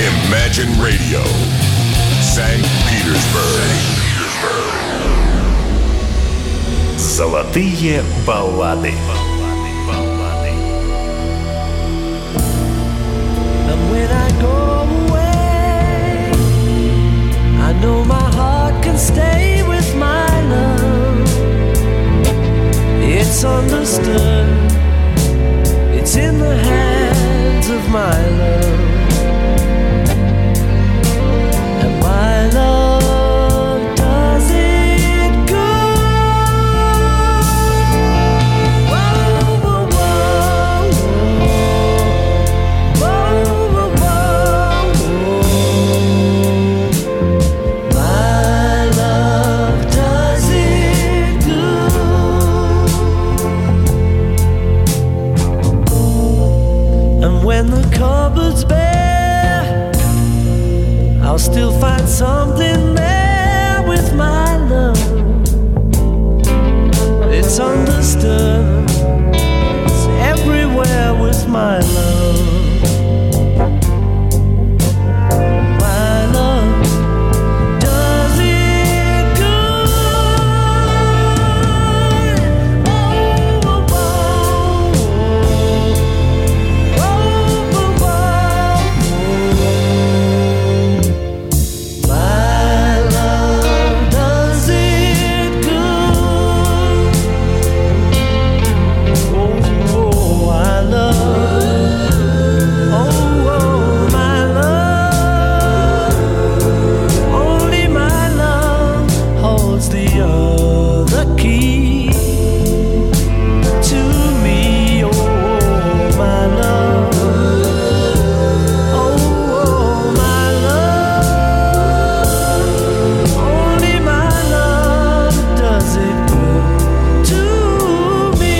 Imagine Radio, St. Petersburg. Золотые баллады. And when I go away, I know my heart can stay with my love. It's understood. It's in the hands of my love. And my love does it good. Whoa, whoa, whoa, whoa, whoa, whoa, whoa. My love does it good. And when the cupboard's bare, I'll still find something there with my love. It's understood. It's everywhere with my love. My love does it good. Oh, oh, oh, oh, oh, oh, oh. My love does it good. Oh, oh, I love. Oh, oh, my love. Only my love holds the other key to me. Oh, my love. Oh, my love. Only my love does it good to me.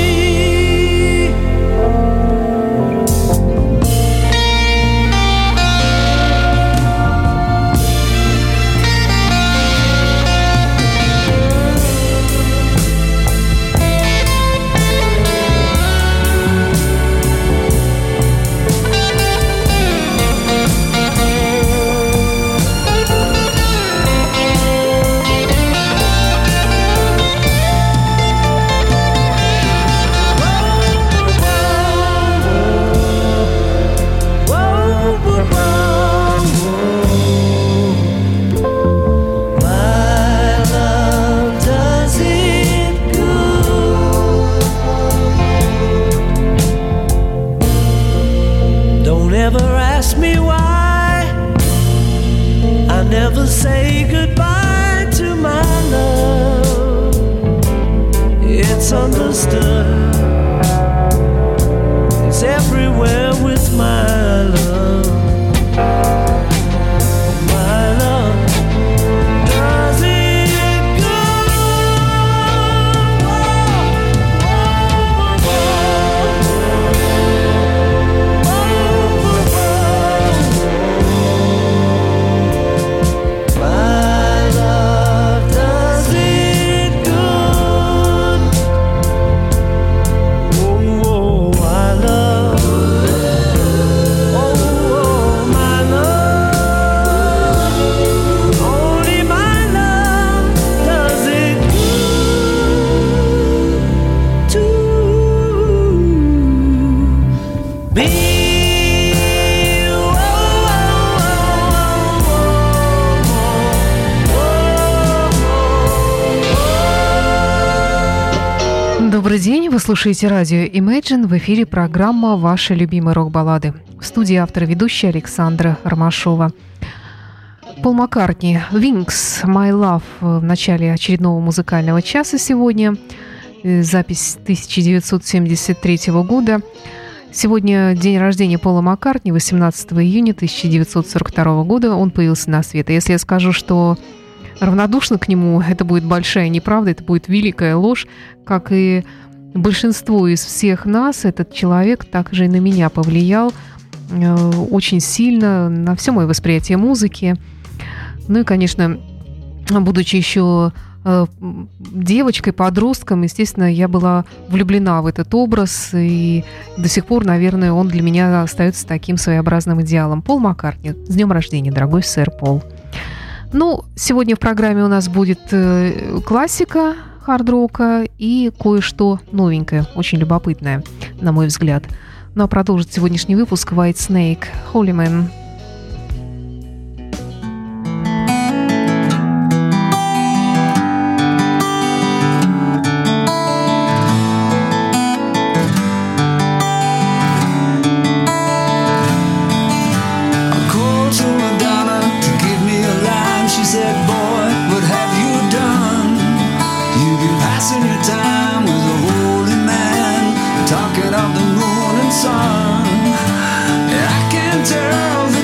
My love does it good. Don't ever ask me why. I never say goodbye to my love. It's understood. It's everywhere with my love. My love does it good. Whoa, whoa, whoa. My love does it good. Oh, I love. Oh, my love. Only my love does it good to me. Добрый день, вы слушаете радио Imagine, в эфире программа «Ваши любимые рок-баллады». В студии автор и ведущая Александра Ромашова. Пол Маккартни, Wings, My Love в начале очередного музыкального часа сегодня. Запись 1973 года. Сегодня день рождения Пола Маккартни, 18 июня 1942 года. Он появился на свет. И если я скажу, что равнодушно к нему, это будет большая неправда, это будет великая ложь. Как и большинство из всех нас, этот человек также и на меня повлиял очень сильно на все мое восприятие музыки. Ну и, конечно, будучи еще девочкой, подростком, естественно, я была влюблена в этот образ, и до сих пор, наверное, он для меня остается таким своеобразным идеалом. Пол Маккартни. С днем рождения, дорогой сэр Пол. Ну, сегодня в программе у нас будет классика хард-рока и кое-что новенькое, очень любопытное, на мой взгляд. Ну а продолжит сегодняшний выпуск White Snake, Holy Man. Talking of the moon and sun, I can tell the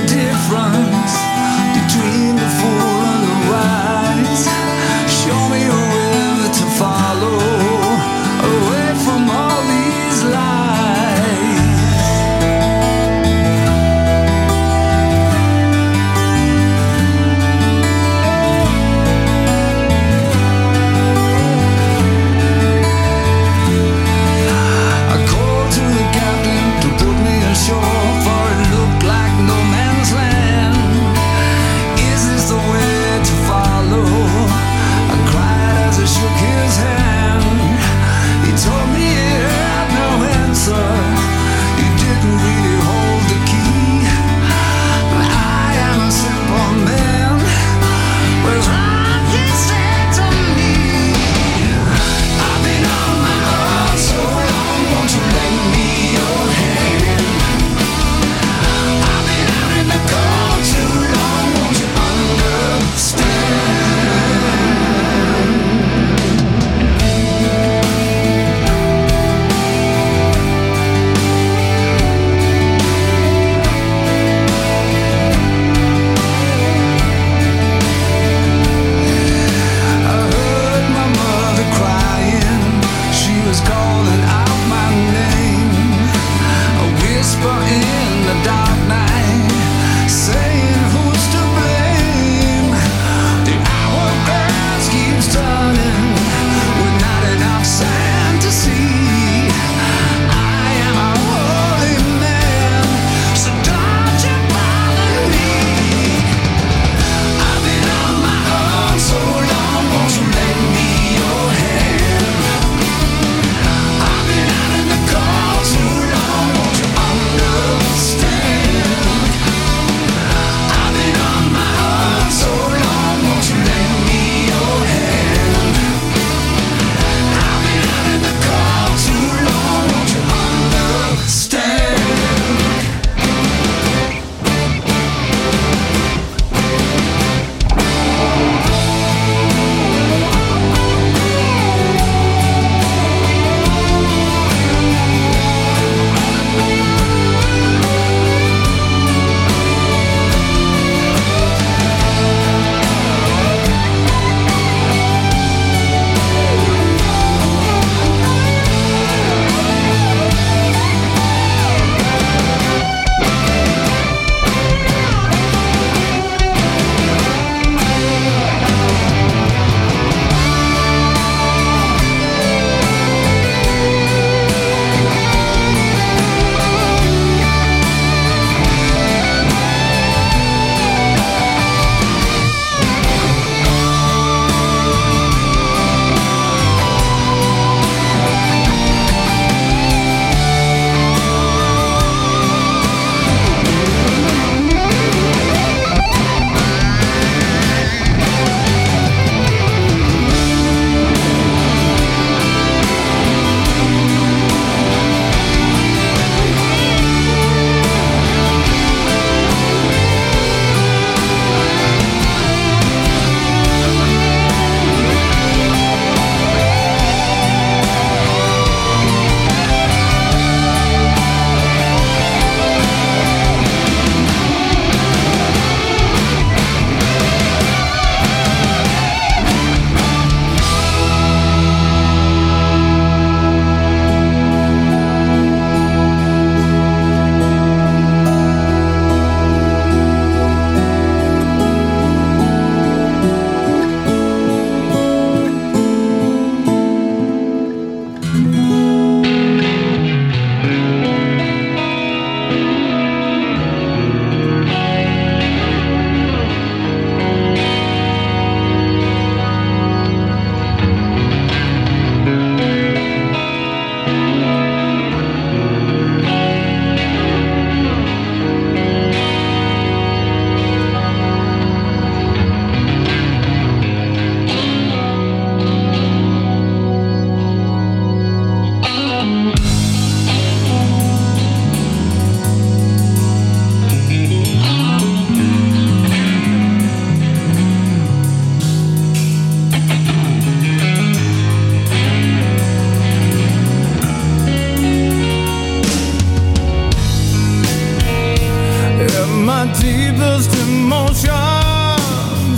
deepest emotions.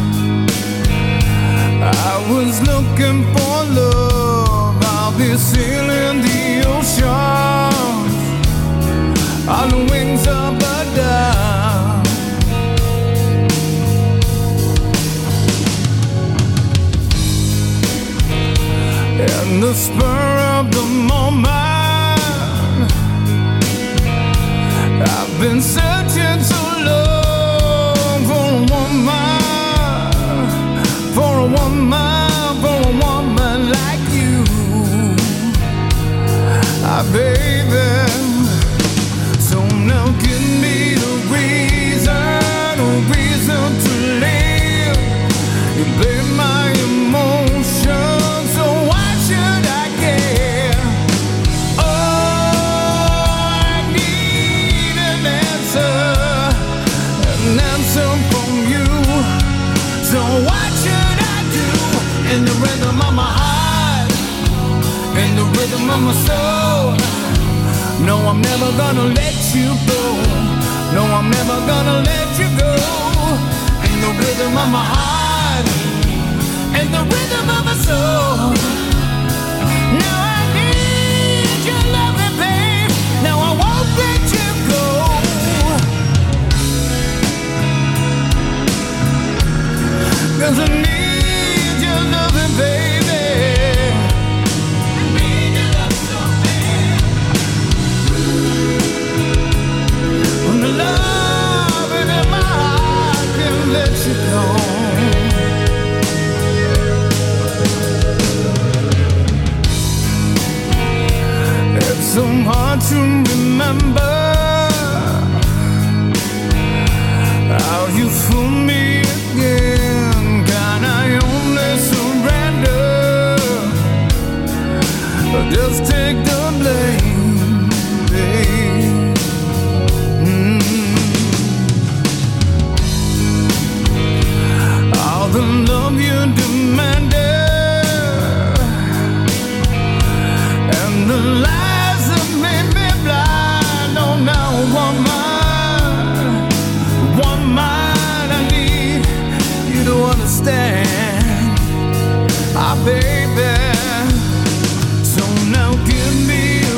I was looking for love. I'll be sailing the ocean on the wings of a dove. In the spur of the moment, I've been searching so long for a woman, for a woman, for a woman like you, baby. So now give me a reason to live. You blame my emotions, so why should I care? Oh, I need an answer from you. So what should I do? In the rhythm of my heart, in the rhythm of my soul. No, I'm never gonna let you go. No, I'm never gonna let you go. In the rhythm of my heart, in the rhythm of my soul. Now I need your loving, babe. Now I won't let you go. 'Cause I need your loving, baby. I need your love so bad. When the love in my heart can't let you go. It's so hard to remember how you fool me again. Can I only surrender? Just take the blame, babe. All the love you demanded and the lies that made me blind. Oh, now woman, I need you to understand, baby. So now give me a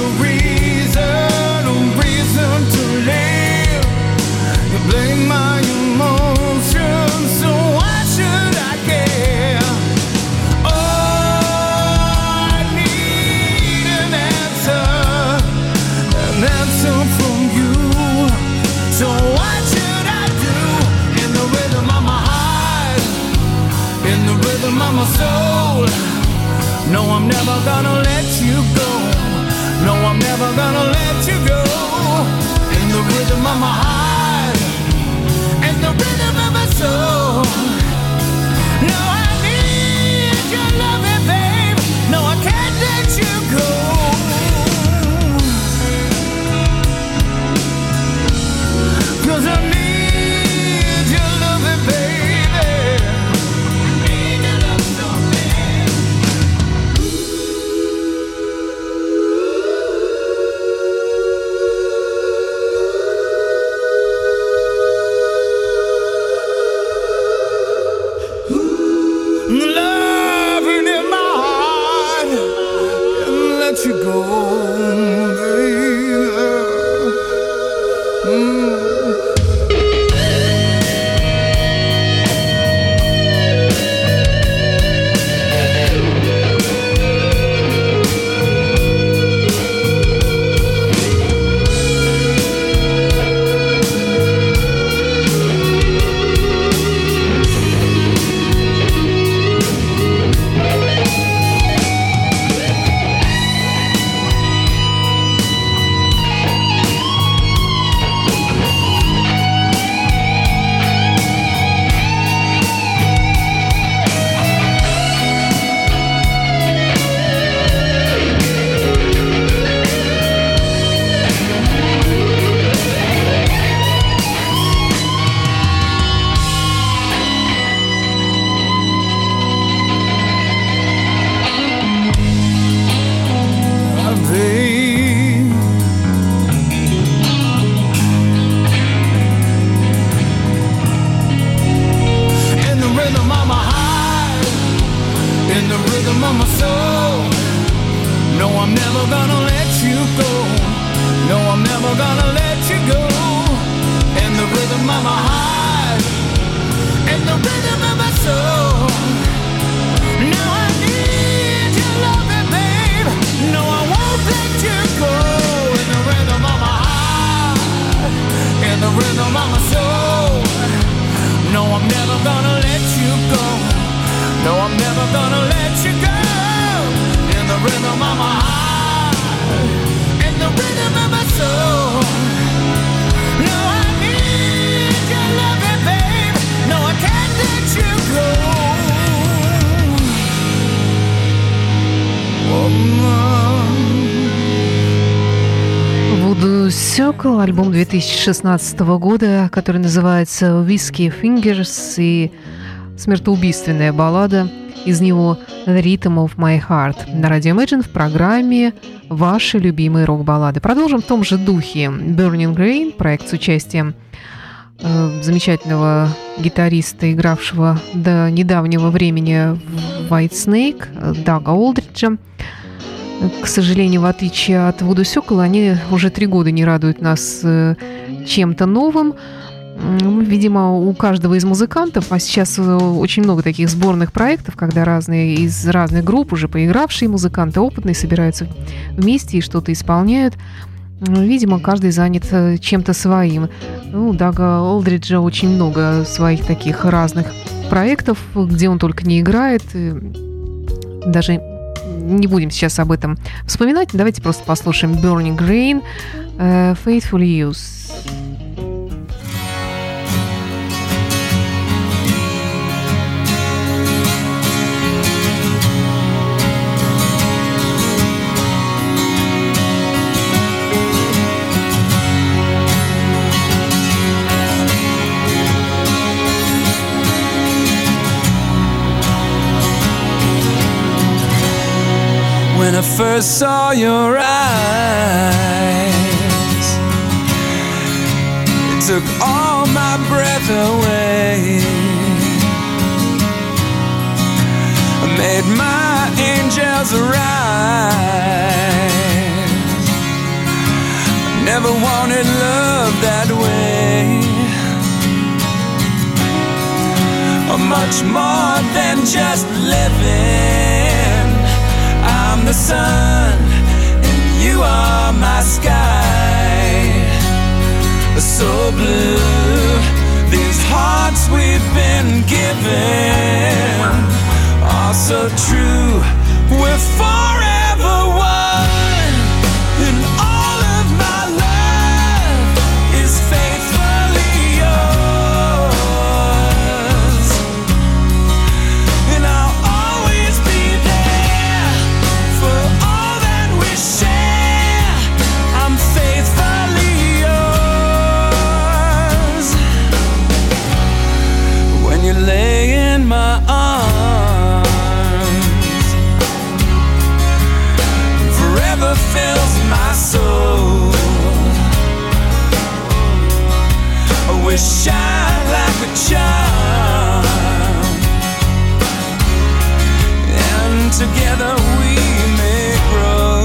reason to live. You blame my emotions, so why should I care? Oh, I need an answer from you. So what should I do? In the rhythm of my heart, in the rhythm of my soul. No, I'm never gonna let you go. No, I'm never gonna let you go. In the rhythm of my heart, in the rhythm of my soul. No, I need your loving, babe. No, I can't let you go. 'Cause I need your loving, baby. I need your love so bad. rhythm of my soul. No, I'm never gonna let you go. No, I'm never gonna let you go. In the rhythm of my heart, in the rhythm of my soul. No, I need your loving, babe. No, I can't let you go. Voodoo Circle, альбом 2016 года, который называется Whiskey Fingers, и смертоубийственная баллада из него The Rhythm of My Heart на радио Imagine в программе «Ваши любимые рок-баллады». Продолжим в том же духе. Burning Rain, проект с участием замечательного гитариста, игравшего до недавнего времени в Whitesnake, Дага Олдриджа. К сожалению, в отличие от Voodoo Circle, они уже 3 года не радуют нас чем-то новым. Видимо, у каждого из музыкантов, а сейчас очень много таких сборных проектов, когда разные из разных групп, уже поигравшие музыканты, опытные, собираются вместе и что-то исполняют. Видимо, каждый занят чем-то своим. У Дага Олдриджа очень много своих таких разных проектов, где он только не играет. Даже не будем сейчас об этом вспоминать. Давайте просто послушаем Burning Rain, Faithful Youth. When I first saw your eyes, it took all my breath away. I made my angels arise. I never wanted love that way. Much more than just living. I'm the sun and you are my sky. So blue, these hearts we've been given are so true. We're forever one, and all of my love is faithfully yours. And I'll always be there for all that we share. I'm faithfully yours. When you lay in my arms, forever fills my soul. We shine like a charm, and together we may grow.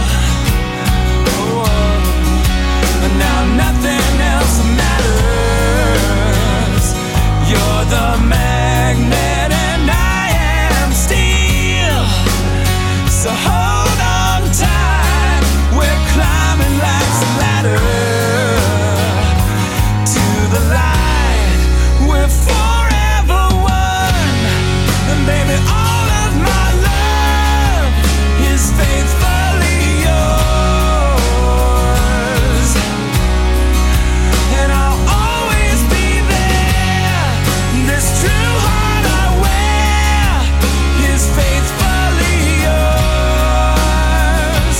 Oh, and now nothing else matters. You're the magnet and I am steel. So hold on tight, we're climbing life's ladder to the light. We're forever one, and baby, all of my love is faithfully yours. And I'll always be there. This true heart I wear is faithfully yours.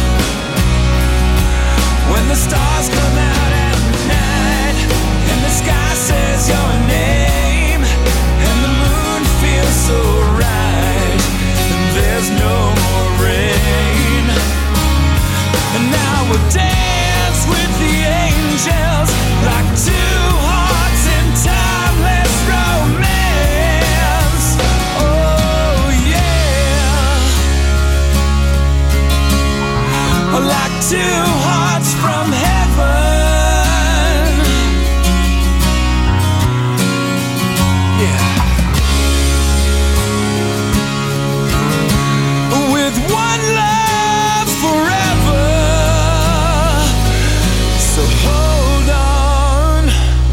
When the stars come out at night and the sky says your name and the moon feels so right and there's no more rain, and now we'll dance with the angels like two hearts in timeless romance. Oh yeah, like two hearts from heaven. Yeah. With one love forever. So hold on,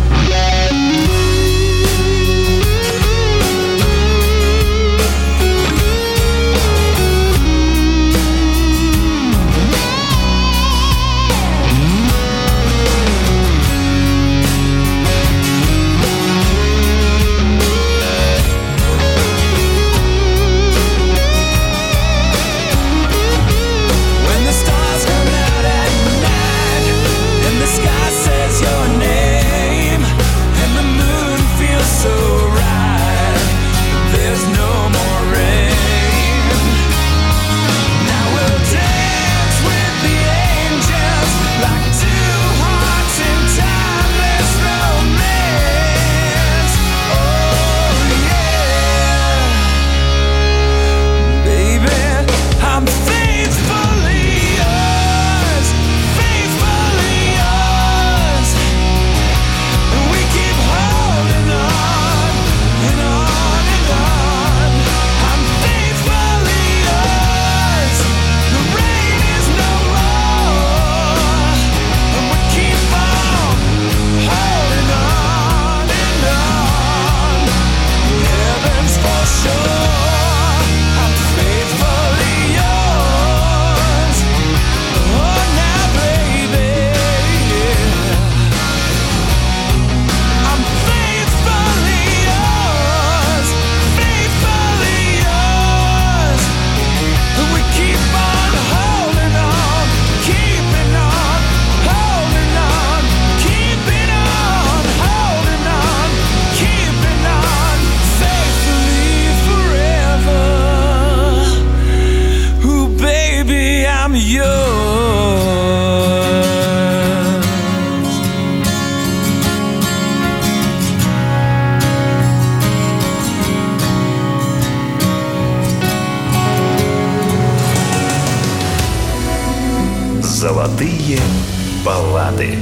yours. Золотые баллады.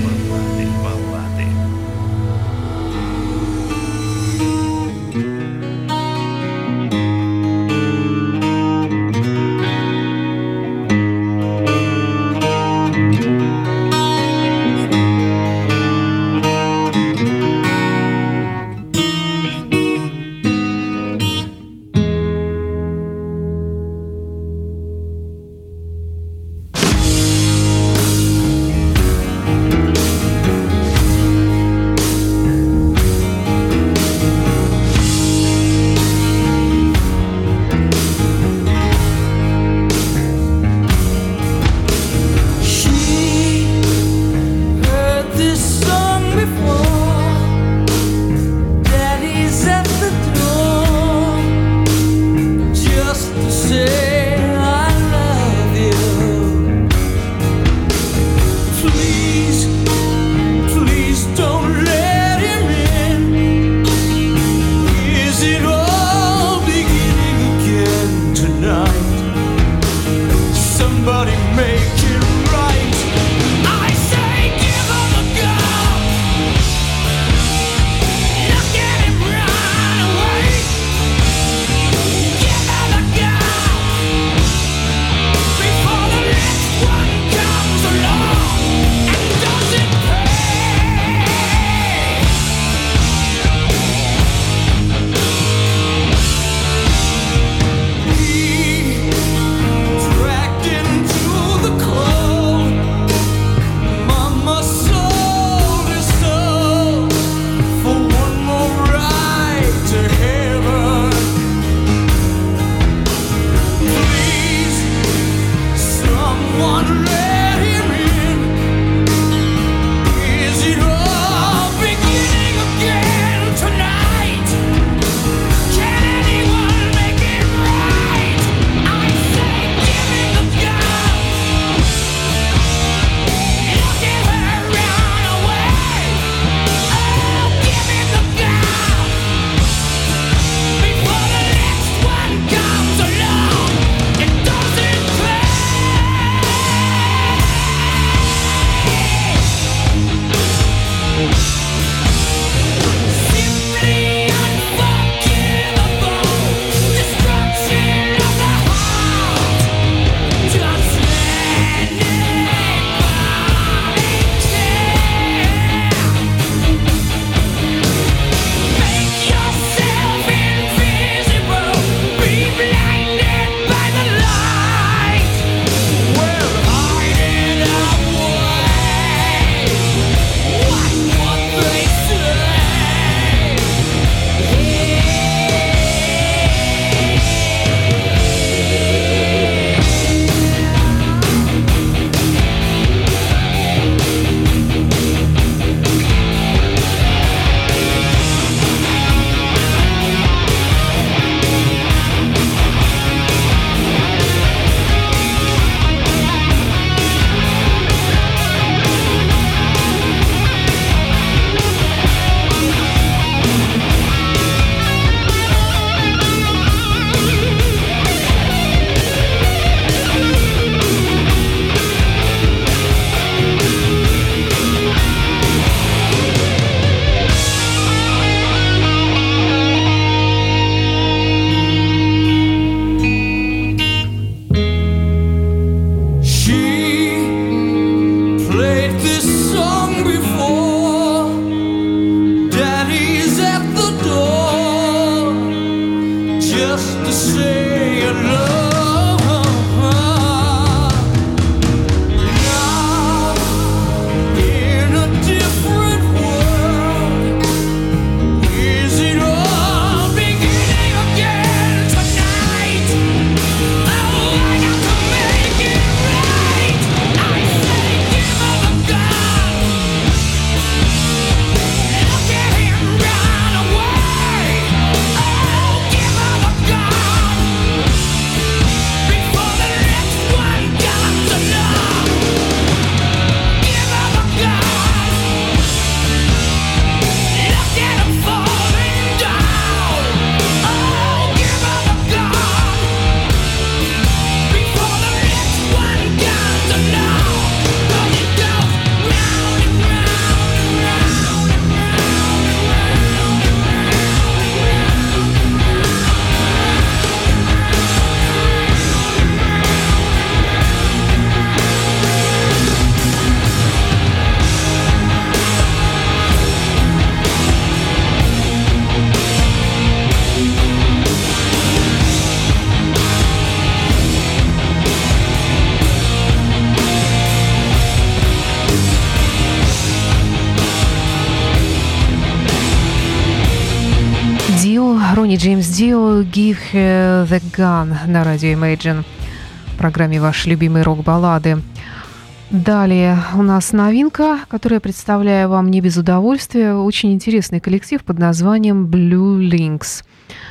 Ронни Джеймс Дио «Give Her The Gun» на радио Imagine, в программе «Ваши любимые рок-баллады». Далее у нас новинка, которую я представляю вам не без удовольствия. Очень интересный коллектив под названием Blue Links.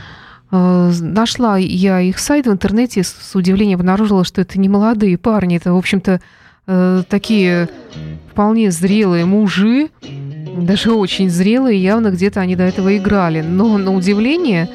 Нашла я их сайт в интернете, с удивлением обнаружила, что это не молодые парни, это, в общем-то, такие вполне зрелые мужи, даже очень зрелые, явно где-то они до этого играли. Но на удивление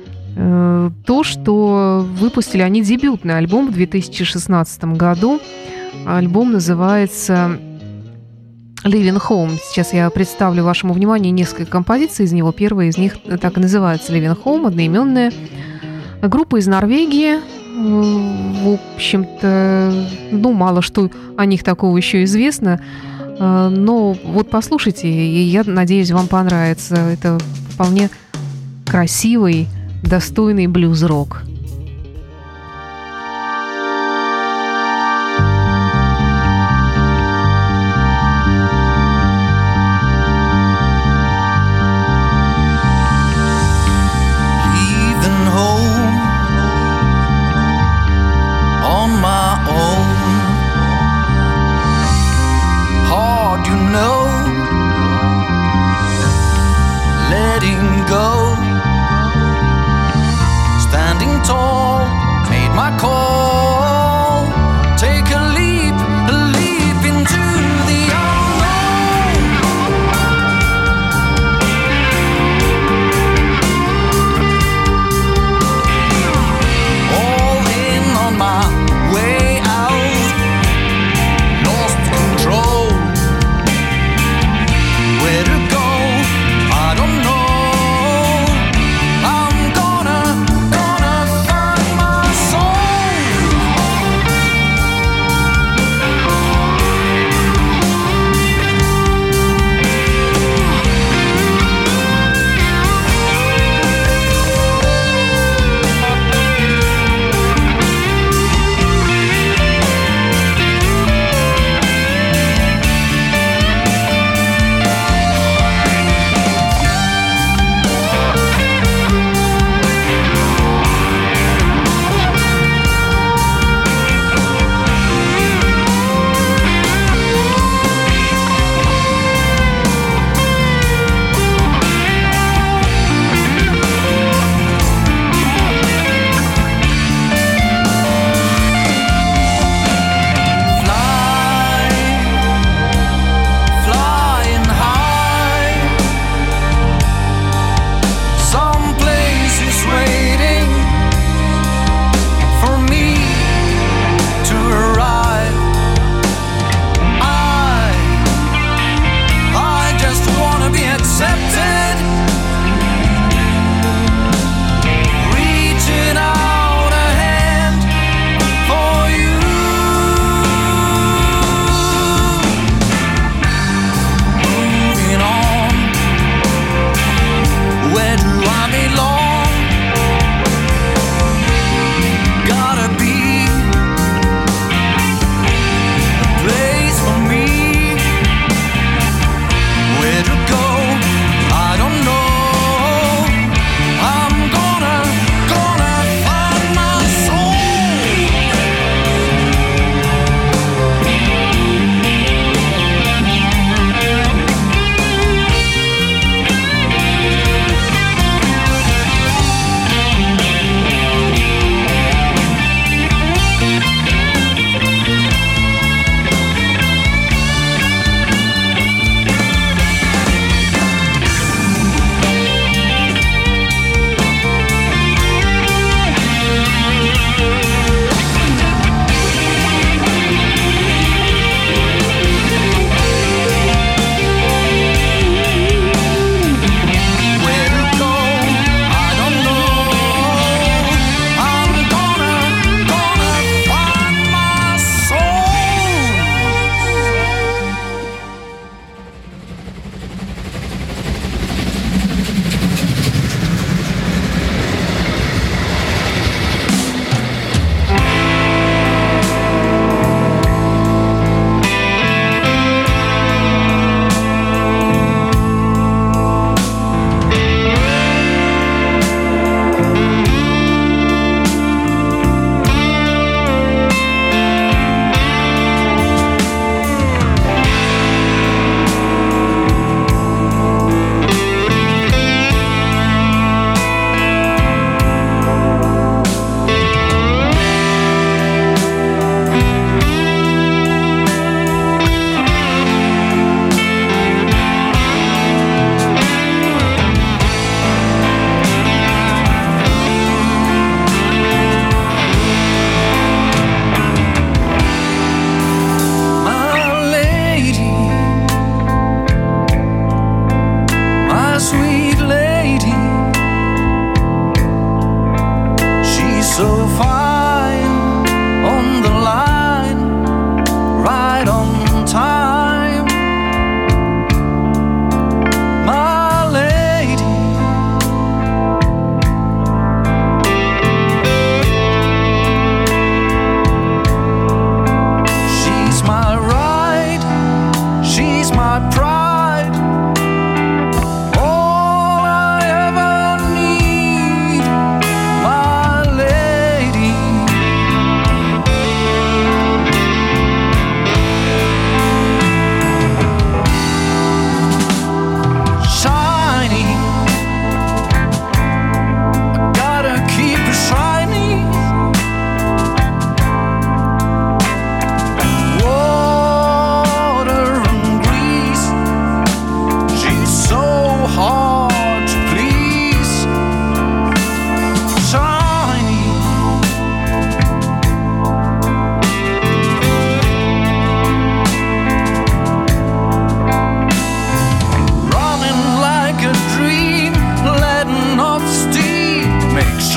то, что выпустили они дебютный альбом в 2016 году. Альбом называется Living Home. Сейчас я представлю вашему вниманию несколько композиций из него. Первая из них так и называется Living Home, одноименная. Группа из Норвегии. В общем-то, мало что о них такого еще известно. Но вот послушайте, и я надеюсь, вам понравится. Это вполне красивый, достойный блюз-рок. Gonna find my soul.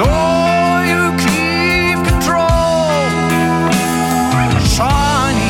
sure you keep control. Shiny.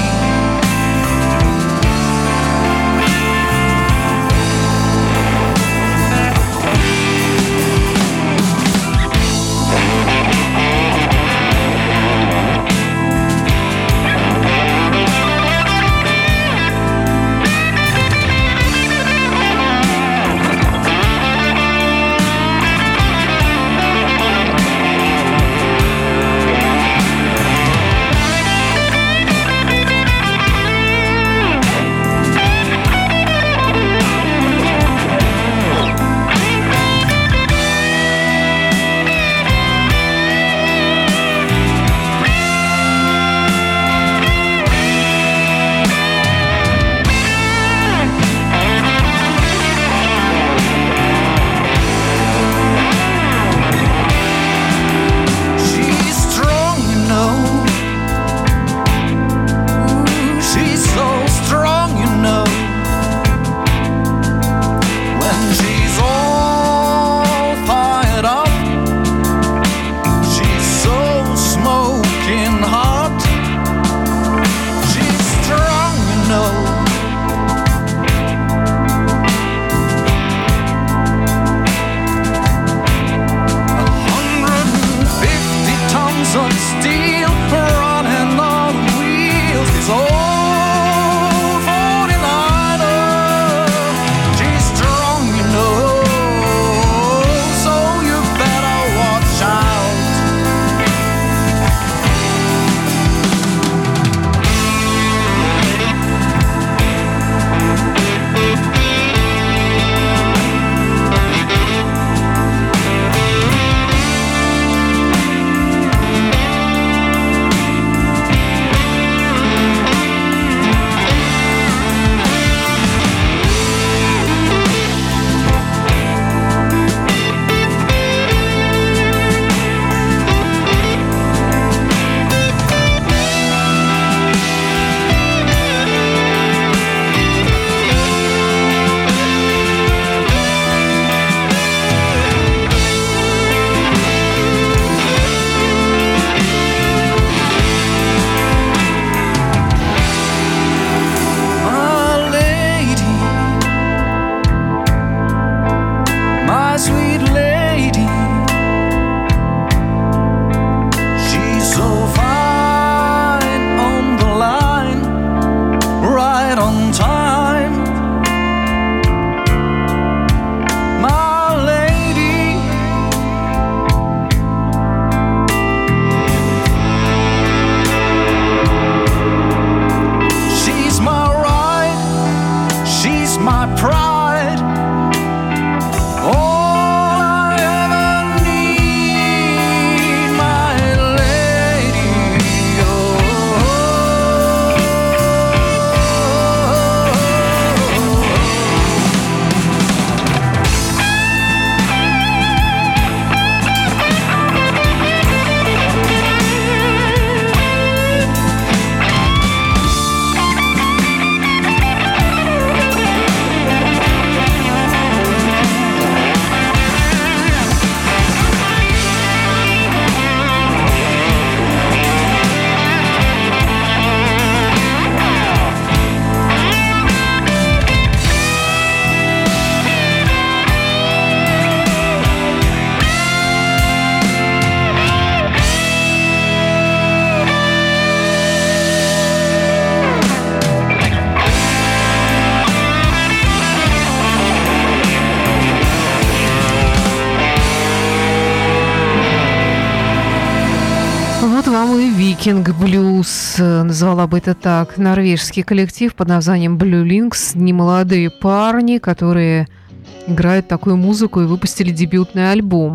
Викинг Блюз, назвала бы это так, норвежский коллектив под названием Blue Links, немолодые парни, которые играют такую музыку и выпустили дебютный альбом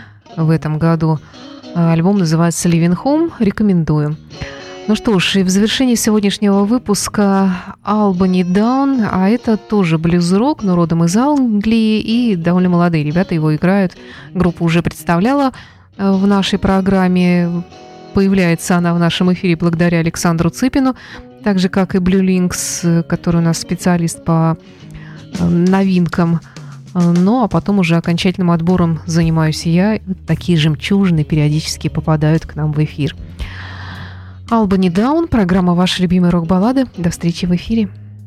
в этом году. Альбом называется Living Home, рекомендую. Ну что ж, и в завершении сегодняшнего выпуска Albany Down, а это тоже блюз-рок, но родом из Англии, и довольно молодые ребята его играют. Группа уже представляла в нашей программе. Появляется она в нашем эфире благодаря Александру Цыпину, так же, как и Blue Links, который у нас специалист по новинкам Ну, а потом уже окончательным отбором занимаюсь я. Такие жемчужины периодически попадают к нам в эфир. Albany Down, программа «Ваши любимые рок-баллады». До встречи в эфире.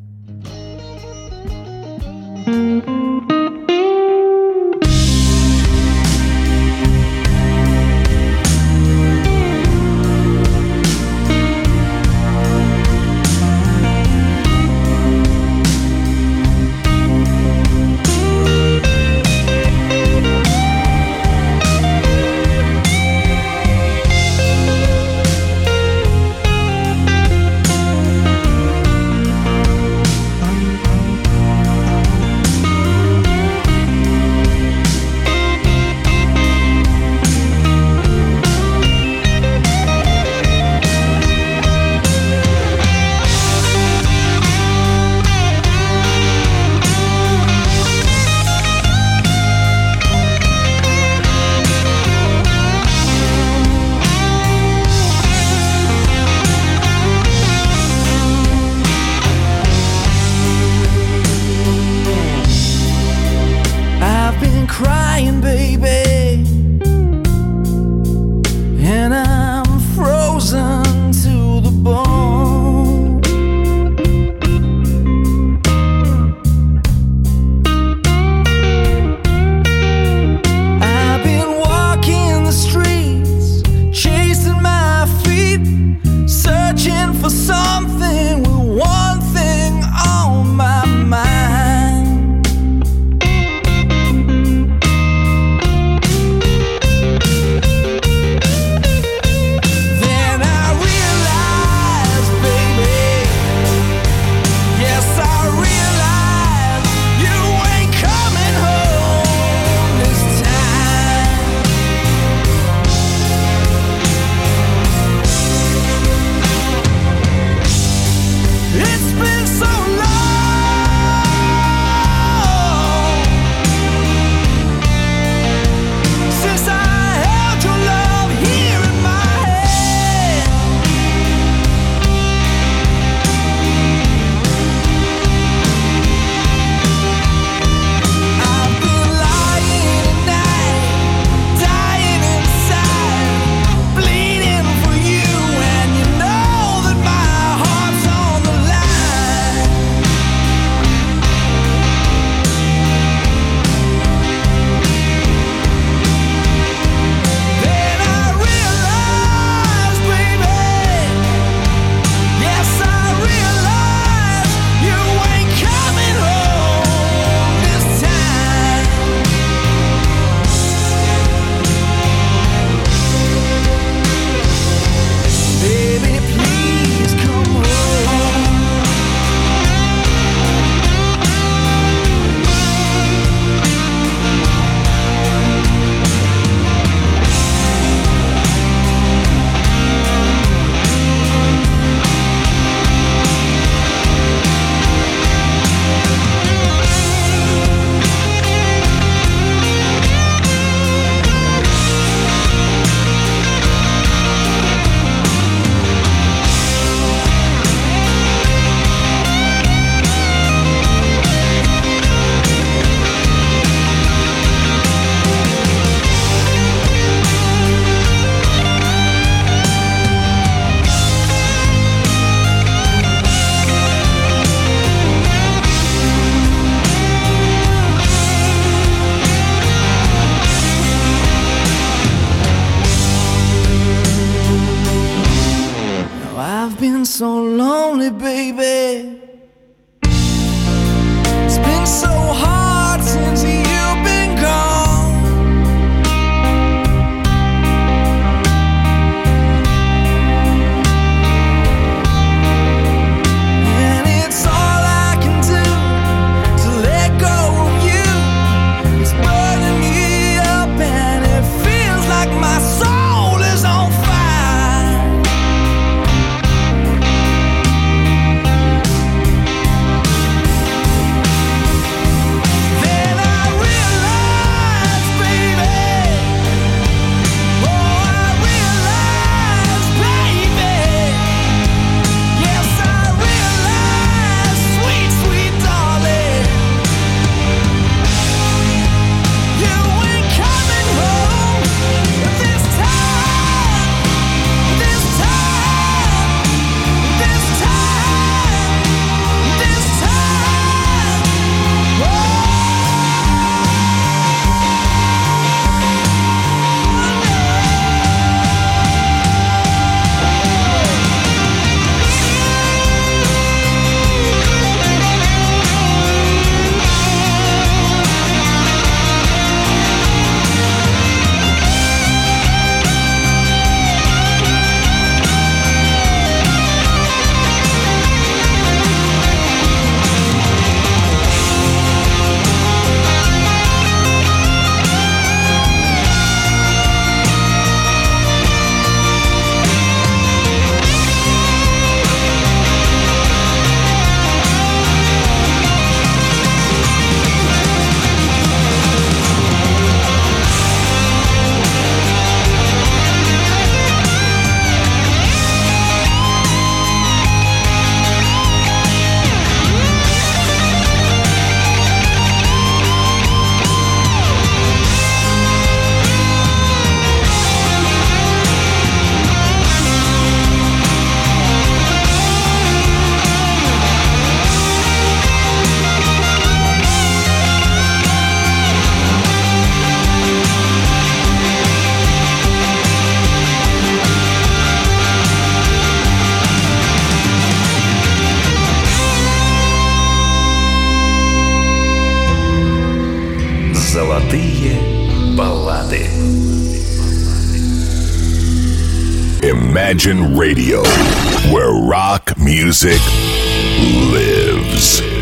so lonely, baby. It's been so hard since you've been gone. And it's all I can do to let go of you. It's burning me up and it feels like my soul is on fire. Золотые баллады. Imagine Radio, where rock music lives.